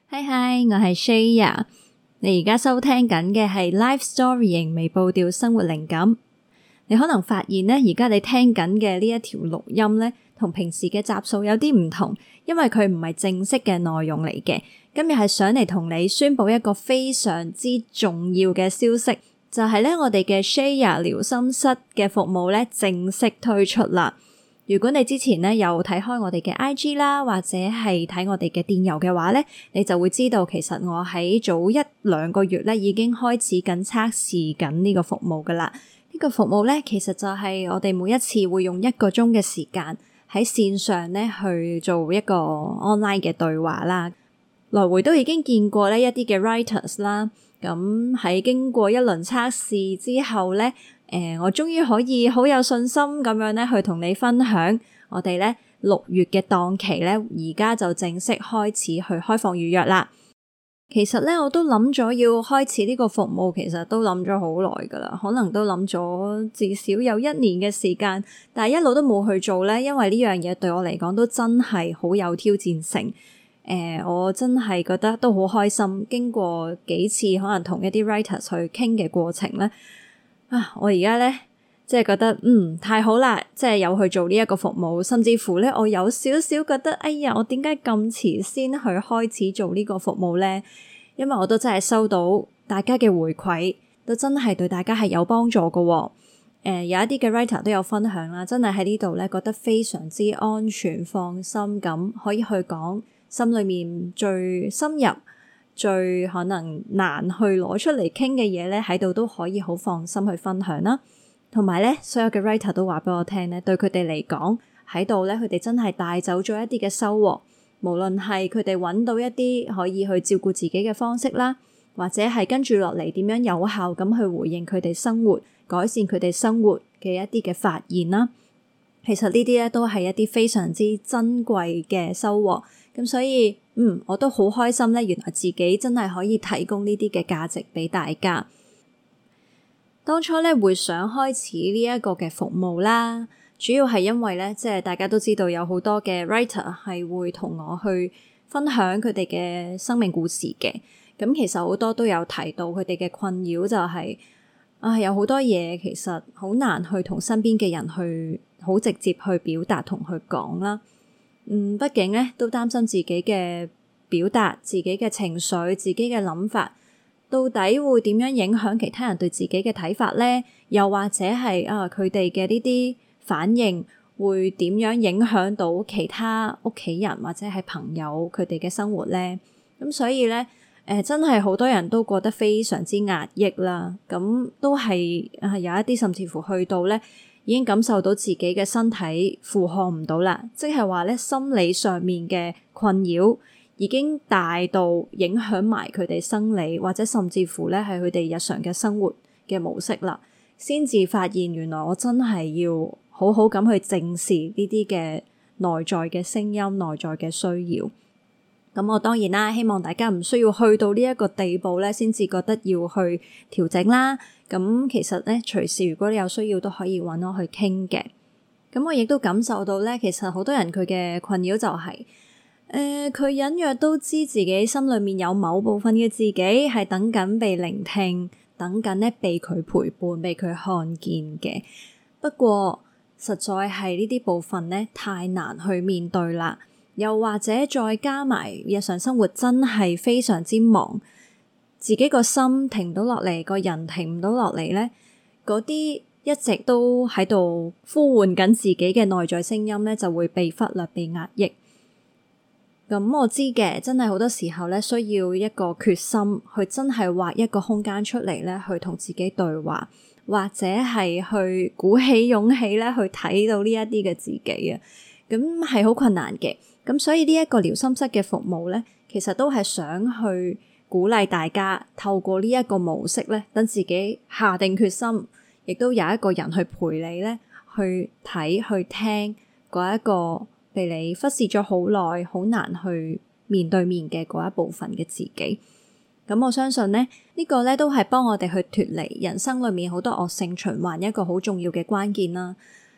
嗨嗨，我係 Shaya， 你而家收聽緊嘅係 Life Story 型微步調生活靈感。你可能發現呢，而家你聽緊嘅呢一條錄音呢，同平時嘅集數有啲唔同，因為佢唔係正式嘅內容嚟嘅。今日係想嚟同你宣佈一個非常之重要嘅消息，就係呢，我哋嘅 Shaya 療心室嘅服務呢正式推出啦。如果你之前呢有睇開我哋嘅 IG 啦，或者係睇我哋嘅電郵嘅話呢，你就會知道其實我喺早1-2個月呢已經開始緊測試緊呢個服務噶啦。呢個服務呢，其實就係我哋每一次會用1個鐘嘅時間喺線上呢去做一個 online 嘅對話啦。來回都已經見過呢一啲嘅 writers 啦，咁喺經過一輪測試之後呢，我終於可以好有信心咁樣咧去同你分享我哋咧6月嘅檔期咧，而家就正式開始去開放預約啦。其實咧我都諗咗要開始呢個服務，其實都諗咗好耐噶啦，可能都諗咗至少有1年嘅時間，但係一路都冇去做咧，因為呢樣嘢對我嚟講都真係好有挑戰性。我真係覺得都好開心，經過幾次可能同一啲 writers 去傾嘅過程咧，我而家咧即係覺得太好啦，即係有去做呢一個服務，甚至乎咧我有少少覺得哎呀，我點解咁遲先去開始做呢個服務咧？因為我都真係收到大家嘅回饋，都真係對大家係有幫助㗎喎。有一啲嘅 writer 都有分享啦，真係喺呢度咧覺得非常之安全放心咁，可以去講心裏面最深入最可能難去攞出嚟傾嘅嘢咧，喺度都可以好放心去分享啦。同埋咧，所有嘅 writer 都話俾我聽咧，對佢哋嚟講喺度咧，佢哋真係帶走咗一啲嘅收穫。無論係佢哋揾到一啲可以去照顧自己嘅方式啦，或者係跟住落嚟點樣有效咁去回應佢哋生活、改善佢哋生活嘅一啲嘅發現啦。其實呢啲咧都係一啲非常之珍貴嘅收穫。咁所以我都好開心咧，原來自己真係可以提供呢啲嘅價值俾大家。當初咧會想開始呢一個嘅服務啦，主要係因為咧，即係大家都知道有好多嘅 writer 係會同我去分享佢哋嘅生命故事嘅。咁其實好多都有提到佢哋嘅困擾就係有好多嘢其實好難去同身邊嘅人去好直接去表達同去講啦。畢竟咧都擔心自己嘅表達、自己嘅情緒、自己嘅諗法，到底會點樣影響其他人對自己嘅睇法咧？又或者係佢哋嘅呢啲反應會點樣影響到其他屋企人或者係朋友佢哋嘅生活咧？咁所以咧，真係好多人都過得非常之壓抑啦。咁都係有一啲甚至乎去到咧，已經感受到自己嘅身體負荷唔到啦，即係話咧心理上面嘅困擾已經大到影響埋佢哋生理，或者甚至乎咧係佢哋日常嘅生活嘅模式啦，先至發現原來我真係要好好咁去正視呢啲嘅內在嘅聲音、內在嘅需要。咁我當然啦，希望大家唔需要去到呢一個地步咧，先至覺得要去調整啦。咁其實咧，隨時如果你有需要都可以揾我去傾嘅。咁我亦都感受到咧，其實好多人佢嘅困擾就係，佢隱約都知自己心裏面有某部分嘅自己係等緊被聆聽，等緊咧被佢陪伴、被佢看見嘅。不過實在係呢啲部分咧太難去面對啦。又或者再加埋日常生活真係非常之忙，自己個心停唔到落嚟，個人停唔到落嚟咧，嗰啲一直都喺度呼喚緊自己嘅內在聲音咧，就會被忽略、被壓抑。咁我知嘅，真係好多時候咧，需要一個決心去真係劃一個空間出嚟咧，去同自己對話，或者係去鼓起勇氣咧，去睇到呢一啲嘅自己啊。咁係好困難嘅。咁所以呢一個療心室嘅服務咧，其實都係想去鼓勵大家透過呢一個模式咧，等自己下定決心，亦都有一個人去陪你咧，去睇去聽嗰一個被你忽視咗好耐、好難去面對面嘅嗰一部分嘅自己。咁我相信咧，呢個咧都係幫我哋去脫離人生裏面好多惡性循環一個好重要嘅關鍵啦。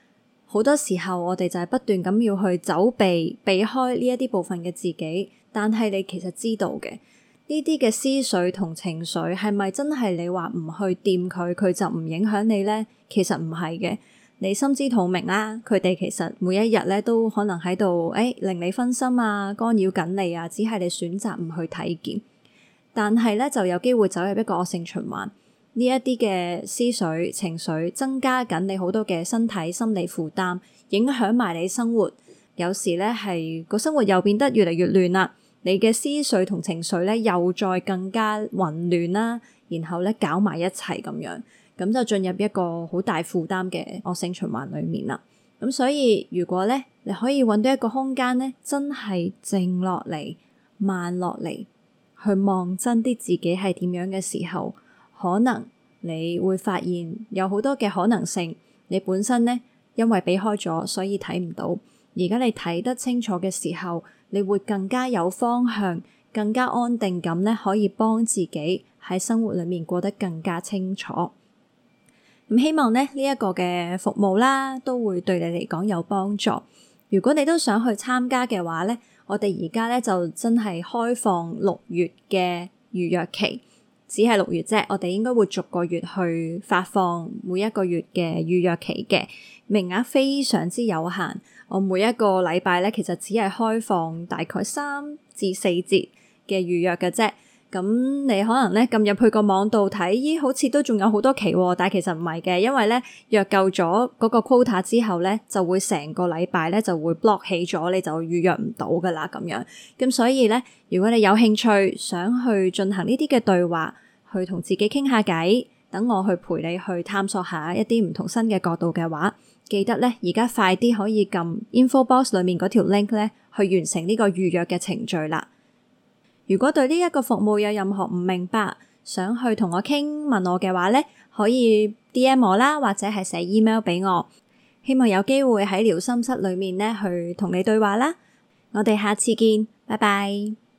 好多時候我哋就係不斷咁要去避開呢一啲部分嘅自己，但係你其實知道嘅呢啲嘅思緒同情緒係咪真係你話唔去掂佢，佢就唔影響你呢？其實唔係嘅，你心知肚明啦，佢哋其實每一日咧都可能喺度令你分心啊，干擾緊你啊，只係你選擇唔去睇見，但係咧就有機會走入一個惡性循環。呢一啲嘅思緒情緒增加緊你好多嘅身體心理負擔，影響埋你生活，有時咧係個生活又變得越嚟越亂啦。你嘅思緒同情緒咧又再更加混亂啦，然後咧搞埋一齊咁樣，咁就進入一個好大負擔嘅惡性循環裏面啦。咁所以如果咧你可以搵到一個空間咧，真係靜落嚟、慢落嚟，去望真啲自己係點樣嘅時候，可能你會發現有好多嘅可能性。你本身咧因為避開咗，所以睇唔到。而家你睇得清楚嘅時候，你會更加有方向，更加安定咁咧，可以幫自己喺生活裏面過得更加清楚。咁希望咧呢一個嘅服務啦，都會對你嚟講有幫助。如果你都想去參加嘅話咧，我哋而家咧就真係開放6月嘅預約期，只係6月啫。我哋應該會逐個月去發放每一個月嘅預約期嘅，名額非常之有限。我每一個禮拜咧，其實只係開放大概3至4節嘅預約嘅啫。咁你可能咧撳入去個網度睇，咦，好似都仲有好多期喎，但係其實唔係嘅，因為咧約夠咗嗰個 quota 之後咧，就會成個禮拜咧就會 block 起咗，你就預約唔到噶啦咁樣。咁所以咧，如果你有興趣想去進行呢啲嘅對話，去同自己傾下偈，等我去陪你去探索下一啲唔同新嘅角度嘅話，記得咧而家快啲可以撳 info box 裏面嗰條 link 咧，去完成呢個預約嘅程序啦。如果對呢一個服務有任何唔明白，想去同我傾問我嘅話咧，可以 DM 我啦，或者係寫 email 俾我。希望有機會喺療心室裏面咧去同你對話啦。我哋下次見，拜拜。